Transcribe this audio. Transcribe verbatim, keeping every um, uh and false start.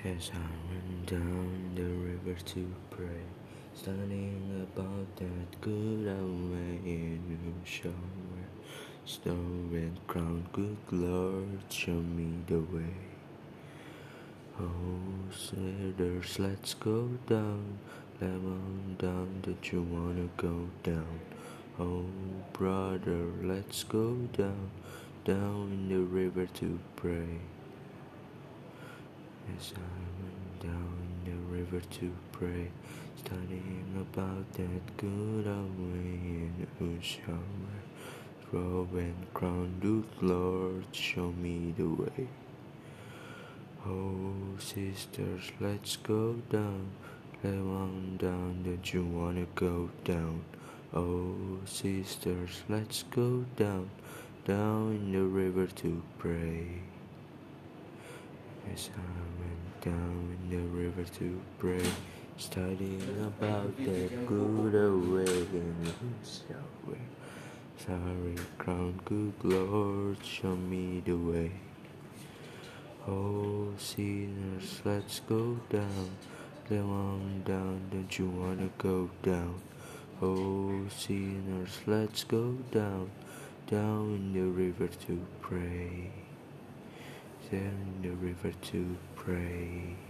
As I went down the river to pray, studying about that good old way in the shower, snow and crown, good Lord, show me the way. Oh, sinners, let's go down, come on down, don't you wanna go down? Oh, brother, let's go down, down in the river to pray. As I went down the river to pray, studying about that good old way in the shower, robe and crown, good Lord, show me the way. Oh, sisters, let's go down, come on down, don't you wanna go down? Oh, sisters, let's go down, down in the river to pray. As I went down in the river to pray, studying about that good old way in the shower. Sorry, crown, good Lord, show me the way. Oh, sinners, let's go down, come on down, don't you wanna go down? Oh, sinners, let's go down, down in the river to pray. Down in the river to pray.